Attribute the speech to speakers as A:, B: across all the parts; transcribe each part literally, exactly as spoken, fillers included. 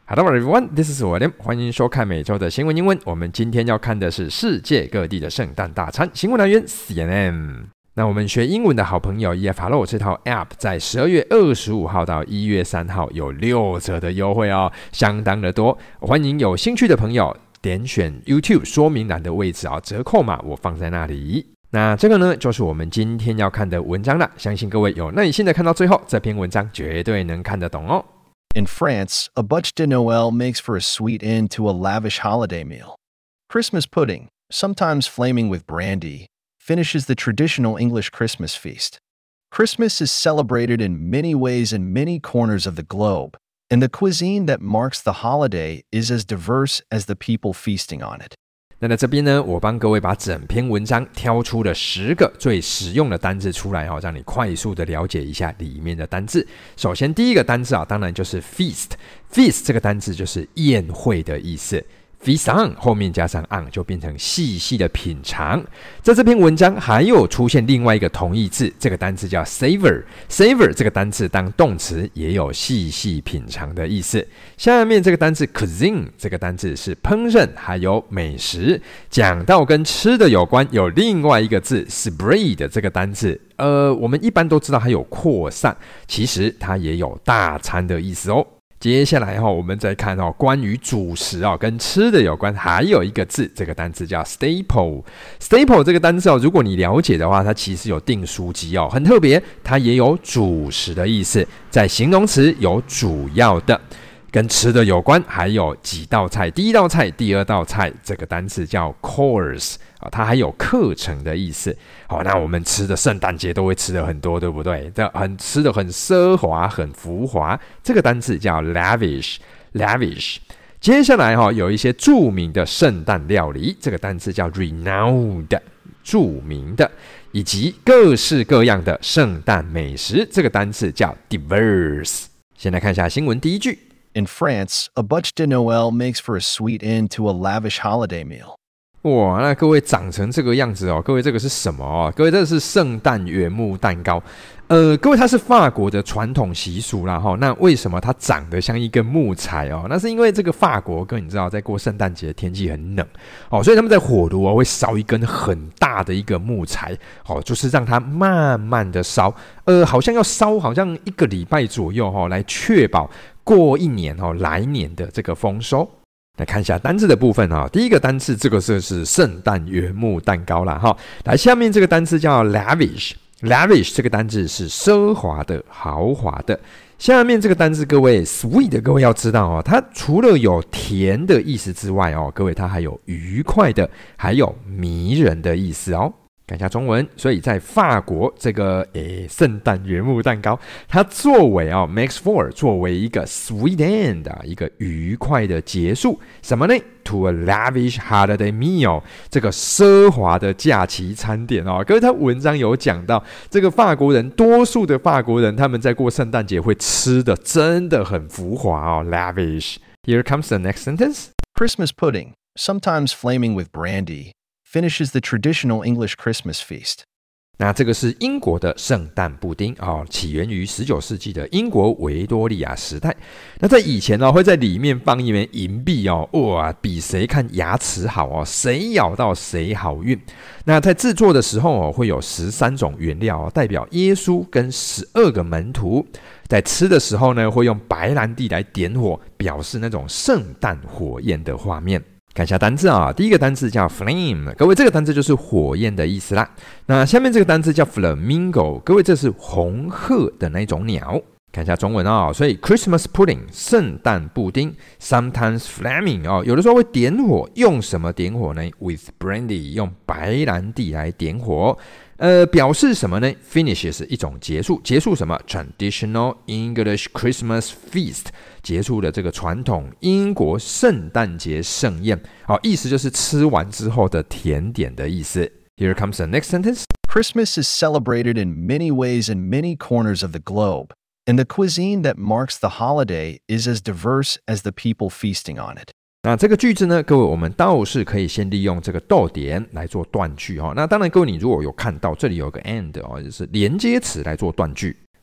A: Hello everyone, this is William. 歡迎收看每周的新聞英文。我們今天要看的是世界各地的聖誕大餐，新聞來源 C N N。那我們學英文的好朋友 E F Hello 這套 App 在十二月二十五號到一月三號有六折的優惠哦，相當的多。歡迎有興趣的朋友點選 YouTube 說明欄的位置啊，折扣碼我放在那裡。那這個呢，就是我們今天要看的文章了。相信各位有耐心的看到最後，這篇文章絕對能看得懂哦。
B: In France, a bûche de Noël makes for a sweet end to a lavish holiday meal. Christmas pudding, sometimes flaming with brandy, finishes the traditional English Christmas feast. Christmas is celebrated in many ways in many corners of the globe, and the cuisine that marks the holiday is as diverse as the people feasting on it.
A: 那在這邊呢，我幫各位把整篇文章挑出了十個最實用的單字出來哦，讓你快速的了解一下裡面的單字。首先第一個單字啊，當然就是 feast。feast 這個單字就是宴會的意思。feast on 後面加上 on 就變成細細的品嘗。在這篇文章還有出現另外一個同義字，這個單字叫 savor。savor 這個單字當動詞也有細細品嘗的意思。下面這個單字 cuisine 這個單字是烹飪還有美食。講到跟吃的有關，有另外一個字 spread 這個單字，呃，我們一般都知道它有擴散，其實它也有大餐的意思哦。接下來我們再看關於主食跟吃的有關，還有一個字，這個單字叫 staple。staple 這個單字如果你了解的話，它其實有訂書機很特別，它也有主食的意思，在形容詞有主要的。跟吃的有關，還有幾道菜，第一道菜、第二道菜，這個單詞叫 course， 它還有課程的意思。好，那我們吃的聖誕節都會吃的很多，對不對？很吃的很奢華、很浮華，這個單詞叫 lavish。lavish。接下來有一些著名的聖誕料理，這個單詞叫 renowned， 著名的，以及各式各樣的聖誕美食，這個單詞叫 diverse。先來看一下新聞第一句。
B: In France, a bûche de Noël makes for a sweet end to a lavish holiday meal.
A: 哇，那各位長成這個樣子哦，各位這個是什麼哦？各位這個是聖誕原木蛋糕。呃，各位它是法國的傳統習俗啦齁。那為什麼它長得像一根木材哦？那是因為這個法國，各位你知道，在過聖誕節天氣很冷哦，所以他們在火爐哦會燒一根很大的一個木材哦，就是讓它慢慢的燒，呃，好像要燒好像一個禮拜左右哦，來確保過一年哦來年的這個豐收。來看一下單字的部分哈，第一個單字這個是是聖誕原木蛋糕啦哈。來，下面這個單字叫 lavish。lavish 這個單字是奢華的、豪華的。下面這個單字各位 sweet 各位要知道哦，它除了有甜的意思之外哦，各位它還有愉快的，還有迷人的意思哦。看一下中文，所以在法國這個誒聖誕原木蛋糕，它作為啊、哦、makes for 作為一個 sweet end 一個愉快的結束，什麼呢 ？To a lavish holiday meal 這個奢華的假期餐點哦。各位，他文章有講到，這個法國人，多數的法國人他們在過聖誕節會吃的真的很浮華哦 ，lavish。Here comes the next sentence.
B: Christmas pudding, sometimes flaming with brandy.Finishes the traditional English Christmas feast.
A: 那這個是英國的聖誕布丁哦，起源於十九世紀的英國維多利亞時代。那在以前呢、哦，會在裡面放一枚銀幣哦，哇，比誰看牙齒好哦，誰咬到誰好運。那在制作的時候哦，會有十三種原料哦，代表耶穌跟十二個門徒。在吃的時候呢，會用白蘭地來點火，表示那種聖誕火焰的畫面。看一下單字啊，第一個單字叫 flame， 各位這個單字就是火焰的意思啦。那下面這個單字叫 flamingo， 各位這是紅鶴的那種鳥。看一下中文啊、哦，所以 Christmas pudding 聖誕布丁 ，sometimes flaming 哦，有的時候會點火，用什麼點火呢 ？With brandy 用白蘭地來點火。呃，表示什麼呢 ？Finish 是一種結束，結束什麼 ？Traditional English Christmas feast， 結束了這個傳統英國聖誕節盛宴。好，意思就是吃完之後的甜點的意思。Here comes the next sentence.
B: Christmas is celebrated in many ways in many corners of the globe, and the cuisine that marks the holiday is as diverse as the people feasting on it.
A: 那這個句子呢，各位我們倒是可以先利用這個逗點來做斷句哈。那當然，各位你如果有看到這裡有個 and 哦，就是連接詞來做斷句。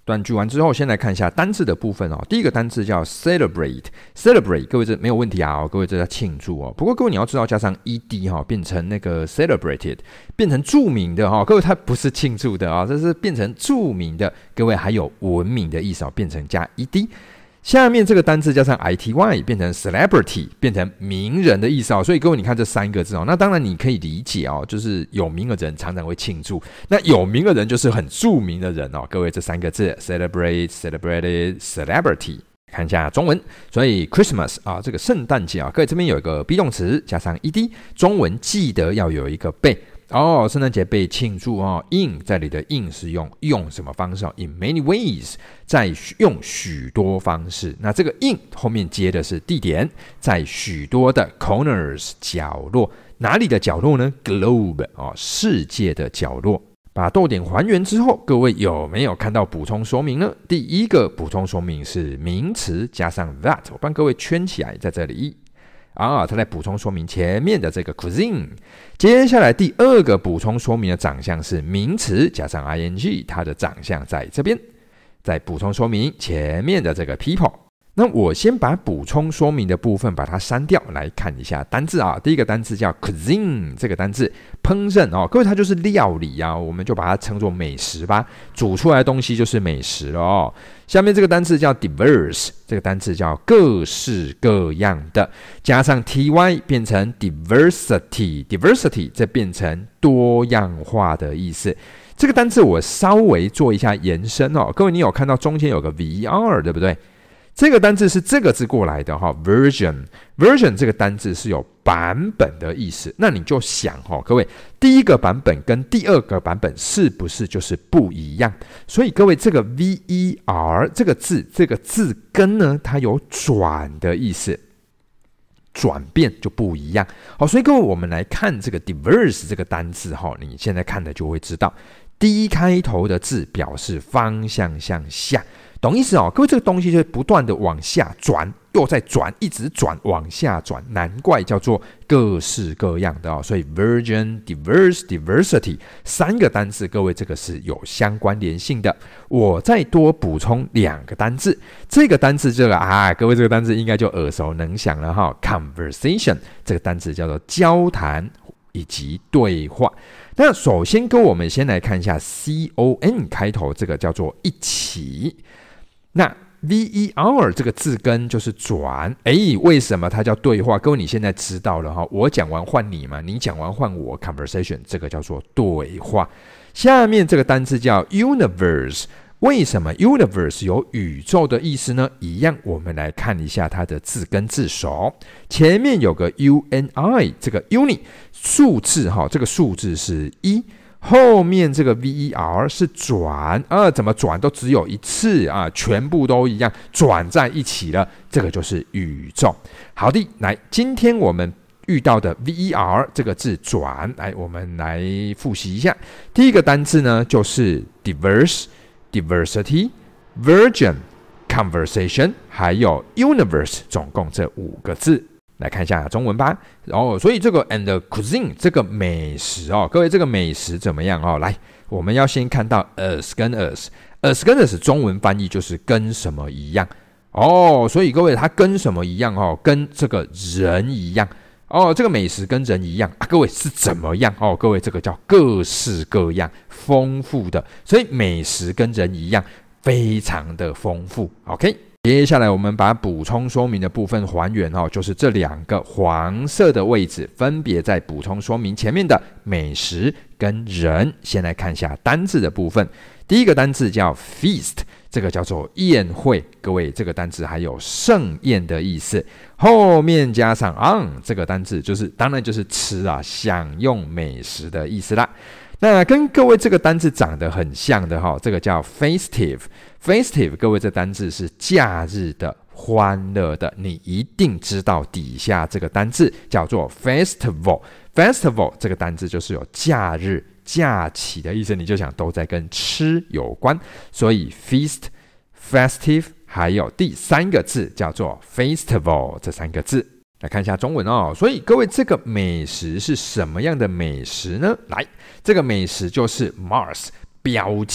A: 短句完之後，先來看一下單字的部分哦。第一個單字叫 celebrate，celebrate， 各位這沒有問題啊、哦，各位這叫慶祝哦。不過各位你要知道，加上 ed 哈、哦，變成那個 celebrated， 變成著名的哈、哦。各位它不是慶祝的啊、哦，這是變成著名的。各位還有文明的意思哦，變成加 ed。下面這個單字加上 ity 變成 celebrity， 變成名人的意思哦。所以各位你看這三個字哦，那當然你可以理解哦，就是有名的人常常會慶祝，那有名的人就是很著名的人哦。各位這三個字 celebrate celebrated celebrity， 看一下中文。所以 Christmas 啊，這個聖誕節啊，各位這邊有一個 be 動詞加上 ed， 中文記得要有一個被。哦，聖誕節被慶祝哦 ，in 在裡的 in 是用用什麼方式哦 ？In many ways， 在用許多方式。那這個 in 後面接的是地點，在許多的 corners 角落，哪裡的角落呢 ？Globe 哦，世界的角落。把逗點還原之後，各位有沒有看到補充說明呢？第一個補充說明是名詞加上 that， 我幫各位圈起來，在這裡。啊，他在補充說明前面的這個 cuisine。接下來第二個補充說明的長相是名詞加上 ing， 它的長相在這邊。再補充說明前面的這個 people。那我先把補充說明的部分把它刪掉，來看一下單字啊。第一個單字叫 cuisine， 這個單字烹飪哦，各位它就是料理啊，我們就把它稱作美食吧。煮出來的東西就是美食了哦。下面這個單字叫 diverse， 這個單字叫各式各樣的，加上 ty 變成 diversity，diversity 這變成多樣化的意思。這個單字我稍微做一下延伸哦，各位你有看到中間有個 ver 對不對？這個單字是這個字過來的哈 ，version version 這個單字是有版本的意思。那你就想哈，各位第一個版本跟第二個版本是不是就是不一樣？所以各位這個 ver 這個字這個字根呢，它有轉的意思，轉變就不一樣。好，所以各位我們來看這個 diverse 這個單字哈，你現在看的就會知道，第一開頭的字表示方向向下。懂意思哦，各位，這個東西就是不斷的往下轉，又再轉，一直轉，往下轉，難怪叫做各式各樣的哦。所以 version diverse diversity 三個單字，各位這個是有相關聯性的。我再多補充兩個單字，這個單字這個啊，各位這個單字應該就耳熟能詳了哈、哦。conversation 這個單字叫做交談以及對話。那首先跟我們先來看一下 con 開頭這個叫做一起。那 ver 這個字根就是轉，誒，為什麼它叫對話？各位你現在知道了哈，我講完換你嘛，你講完換我 ，conversation 這個叫做對話。下面這個單字叫 universe， 為什麼 universe 有宇宙的意思呢？一樣，我們來看一下它的字根字首，前面有個 uni， 這個 uni 數字哈，這個數字是一。後面這個 ver 是轉啊，怎麼轉都只有一次啊，全部都一樣，轉在一起了，這個就是宇宙。好的，來，今天我們遇到的 ver 這個字轉，來，我們來複習一下。第一個單字呢，就是 diverse、diversity、version、conversation， 還有 universe， 總共這五個字。來看一下中文吧。哦，所以這個 and cuisine 這個美食哦，各位這個美食怎麼樣哦？來，我們要先看到 as 跟 as，as 跟 as 中文翻譯就是跟什麼一樣哦。所以各位它跟什麼一樣哦？跟這個人一樣哦。這個美食跟人一樣啊，各位是怎麼樣哦？各位這個叫各式各樣，豐富的。所以美食跟人一樣，非常的豐富。OK。接下來我們把補充說明的部分還原哦，就是這兩個黃色的位置分別在補充說明前面的美食跟人。先來看一下單字的部分，第一個單字叫 feast， 這個叫做宴會，各位這個單字還有盛宴的意思，後面加上 on 這個單字就是當然就是吃啊，享用美食的意思啦。那跟各位這個單字長得很像的哈，這個叫 festive。festive， 各位這單字是假日的、歡樂的，你一定知道底下這個單字叫做 festival。festival 這個單字就是有假日、假期的意思，你就想都在跟吃有關，所以 feast、festive， 還有第三個字叫做 festival， 這三個字。來看一下中文哦，所以各位這個美食是什麼樣的美食呢？來，這個美食就是 marks 標記，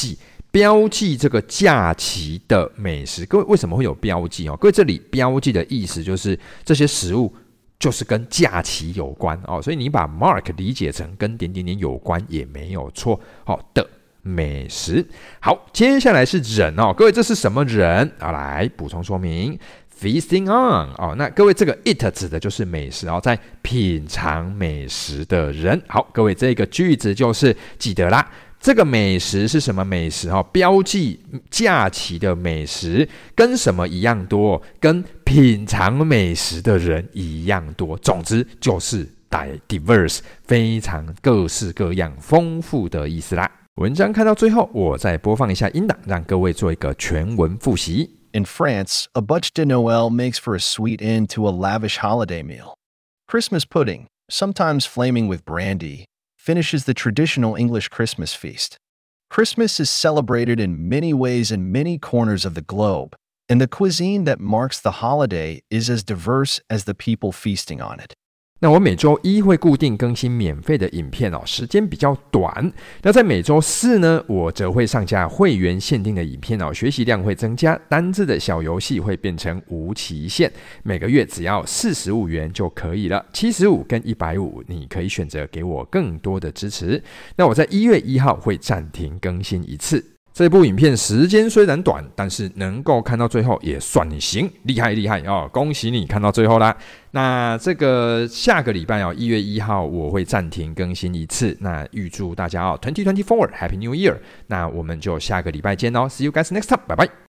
A: 標記這個假期的美食。各位為什麼會有標記哦？各位這裡標記的意思就是這些食物就是跟假期有關哦，所以你把 mark 理解成跟點點點有關也沒有錯哦的美食。好，接下來是人哦，各位這是什麼人啊？來補充說明 ，feasting on 哦，那各位這個 it 指的就是美食哦，在品嘗美食的人。好，各位這個句子就是記得啦。這個美食是什麼美食？標記假期的美食跟什麼一樣多？跟品嘗美食的人一樣多。總之就是 diverse， 非常各式各樣、豐富的意思啦。文章看到最後，我再播放一下音檔，讓各位做一個全文複習。
B: In France, a bûche de Noël makes for a sweet end to a lavish holiday meal. Christmas pudding, sometimes flaming with brandy, finishes the traditional English Christmas feast. Christmas is celebrated in many ways in many corners of the globe, and the cuisine that marks the holiday is as diverse as the people feasting on it.
A: 那我每周一會固定更新免費的影片哦，時間比較短。那在每周四呢，我則會上架會員限定的影片哦，學習量會增加，單字的小遊戲會變成無期限，每個月只要四十五元就可以了，七十五跟一百五，你可以選擇給我更多的支持。那我在一月一號會暫停更新一次。這部影片時間雖然短，但是能夠看到最後也算你行，厲害厲害哦！恭喜你看到最後啦。那這個下個禮拜哦，一月一號我會暫停更新一次。那預祝大家哦，二零二四 Happy New Year！ 那我們就下個禮拜見哦 ，See you guys next time， 拜拜。